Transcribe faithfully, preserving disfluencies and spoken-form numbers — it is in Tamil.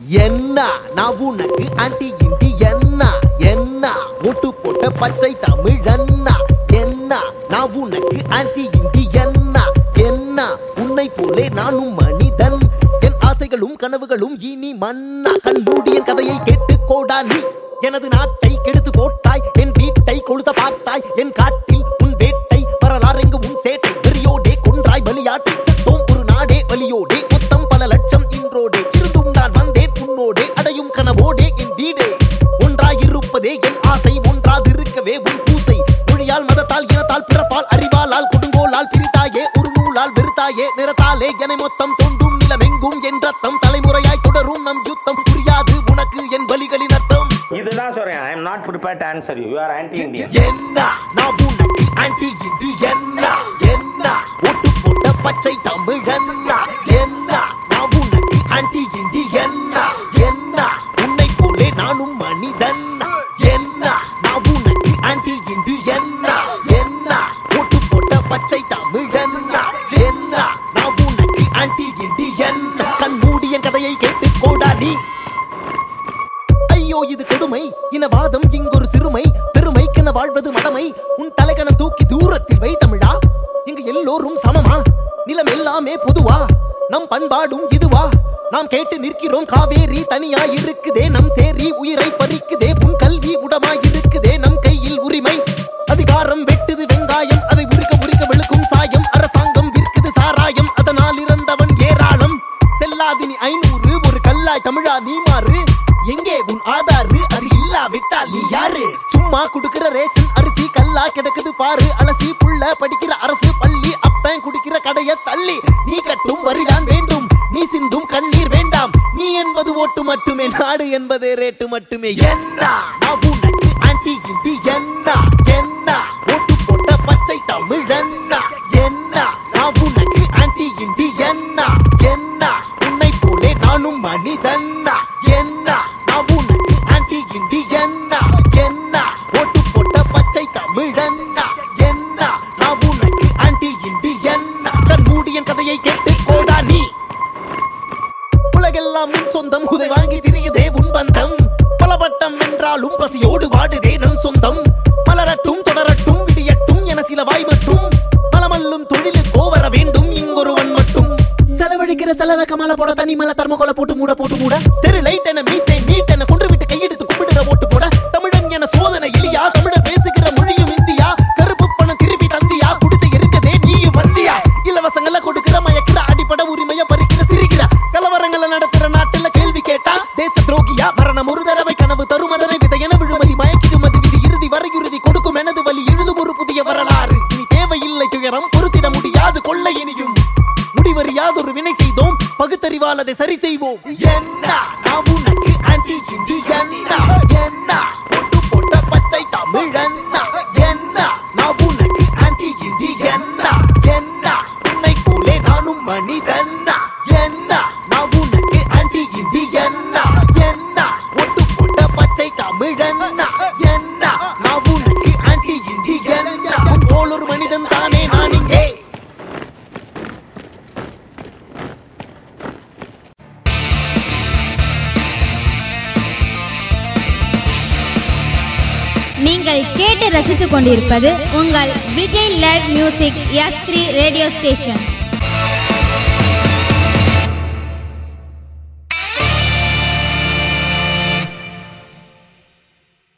என்ன நான் உனக்கு ஆன்டி இண்டி என்ன என்ன ஒட்டு போட்ட பச்சை தமிழன்னா என்ன நான் உனக்கு ஆன்டி இண்டி என்ன என்ன உன்னை போலே நானும் மனிதன் என் ஆசைகளும் கனவுகளும் இனி மன்னா கண்மூடி என் கதையை கேட்டு கோடா நீ எனது நாட்டை கெடுத்து போட்டாய் என் வீட்டை கொளுத்த பார்த்தாய் என் காட்டில் உன் வேட்டை வரலாறெங்கு உன் சேட்டை வெறியோடே கொன்றாய் பலியாட்டி செத்தோம் ஒரு நாடே வலியோடே மொத்தம் பல லட்சம் இன்றோடே இருந்தும் நான் வந்தேன் உன்னோடே அடையும் கனவோடே என் வீடே ஒன்றாய் இருப்பதே என் ஆசை ஒன்றாதிருக்கவே உன் பூசை மொழியால் மதத்தால் இனத்தால் பிறப்பால் அறிவாலால் கொடுங்கோலால் பிரித்தாயே ஒரு நூலால் வெறுத்தாயே நிறத்தாலே என மொத்தம் தோண்டும் நிலமெங்கும் என் ரத்தம் தலைமுறையாய் தொடரும் நம் யுத்தம் புரியாது உனக்கு என் பலிகளின் அர்த்தம். இதுதான் சொல்றேன். I am not prepared to answer you. You are anti-Indian. என்ன நான் உனக்கு ஆன்டி இந்து என்ன என்ன ஒட்டு போட்ட பச்சை தமிழன்னா என்ன நான் உனக்கு ஆன்டி இந்தி என்ன என்ன உன்னை போலே நானும் மனிதன் என்ன நான் உனக்கு ஆன்டி இந்து என்ன என்ன ஒட்டு போட்ட பச்சை தமிழன்னா என்ன நான் உனக்கு ஆன்டி இந்தி என்ன கண் மூடி என் கதையை கேட்டு கோடா நீ. ஐயோ இது கொடுமை இனவாதம் இங்கொரு சிறுமை பெருமைக்கென வாழ்வது மடமை உன் தலைகணம் தூக்கி தூரத்தில் வை தமிழா இங்கு எல்லோரும் சமமா நிலம் எல்லாமே பொதுவா நம் பண்பாடும் இதுவா நாம் கேட்டு நிற்கிறோம் காவேரி தனியா இருக்குதே நம் சேரி உயிரை பறிக்குதே உன் கல்வி உடமாய் இருக்குதே நம் கையில் உரிமை அதிகாரம் வெட்டுது வெங்காயம் அதை உரிக்க உரிக்க வெளுக்கும் சாயம் அரசாங்கம் விற்குது சாராயம் அதனால் இறந்தவன் ஏராளம் செல்லாதினி ஐநூறு ஒரு கல்லாய் தமிழா நீ மாறு எங்கே உன் ஆதாரு அது இல்லா விட்டால் நீ யாரு சும்மா குடுக்கிற ரேஷன் அரிசி கல்லா கிடக்குது பாரு அலசி புள்ள படிக்கிற அரசு பள்ளி அப்பன் குடிக்கிற கடைய தள்ளி நீ கட்டும் வரிதான் வேண்டும் நீ சிந்தும் கண்ணீர் வேண்டாம் நீ என்பது ஓட்டு மட்டுமே நாடு என்பதே ரேட்டு மட்டுமே. என்ன நான் உனக்கு ஆன்டி இந்தி என்ன என்ன ஓட்டு போட்ட பச்சை தமிழன்னா என்ன நான் உனக்கு ஆன்டி இந்தி என்ன என்ன உன்னை போலே நானும் மனிதன்னா என்ன நான் உனக்கு ஆன்டி இந்தி என்ன என்ன ஓட்டு போட்ட பச்சை தமிழன்னா என்ன நான் உனக்கு ஆன்டி இந்தி என்ன கண் மூடி என் கதையை கேட்டு கோடா நீ. உலகெல்லாம் உன் சொந்தம் உதை வாங்கி திரியுதே உன் பந்தம் பலபட்டம் என்றாலும் பசியோடு வாடுதே நம் சொந்தம் மலரட்டும் தொடரட்டும் விடியட்டும் என சில வாய் மட்டும் மலமல்லும் தொழிலுக்கோ வர வேண்டும் இங்கொருவன் மட்டும் செலவழிக்கிற செலவை கமல போட தனி மலை தர்மகோல போட்டு மூட போட்டு மூட ஸ்டெரிலைட் என மீத்தே நீட் என கொன்று விட்டு கையெடுத்து கும்பிடுற ஓட்டு போட தமிழன் என சோதனை எலியா தமிழர் பேசுகிற மொழியும் இந்தியா கருப்பு பணம் திருப்பி தந்தியா குடிசை எரிஞ்சதே நீயும் வந்தியா இலவசங்களை கொடுக்கிற மயக்கிற அடிப்பட உரிமைய பறிக்கிற சிரிக்கிற கலவரங்களை நடத்துற நாட்டுல கேள்வி கேட்டா தேச துரோகியா மரணம் ஒரு தடவை கனவு தரும் அதனை விதையென விழுமதி மயக்கிடும் அது விதி இறுதி வரையுறுதி கொடுக்கும் எனது வழி எழுதும் ஒரு புதிய வரலாறு இனி தேவையில்லை துயரம் பொறுத்திட முடியாது கொள்ள இனியும் முடிவறியாதொரு வினை செய்தோம் பகுத்தறிவால் அதை சரி செய்வோம். என்ன நான் உனக்கு ஆன்டி இந்தி என்ன என்ன ஒட்டு போட்ட பச்சை தமிழன்னா என்ன நான் உனக்கு ஆன்டி இந்தி என்ன என்ன உன்னை போலே நானும் மனிதன்னா என்ன நான் உனக்கு ஆன்டி இந்தி என்ன என்ன ஒட்டு போட்ட பச்சை தமிழன்னா என்ன நான் உனக்கு ஆன்டி இந்தி என்ன உன் போல் ஒரு மனிதன் தானே நான் இங்கே. நீங்கள் கேட்டு ரசித்துக் கொண்டிருப்பது உங்கள் Vijay live music S three radio station.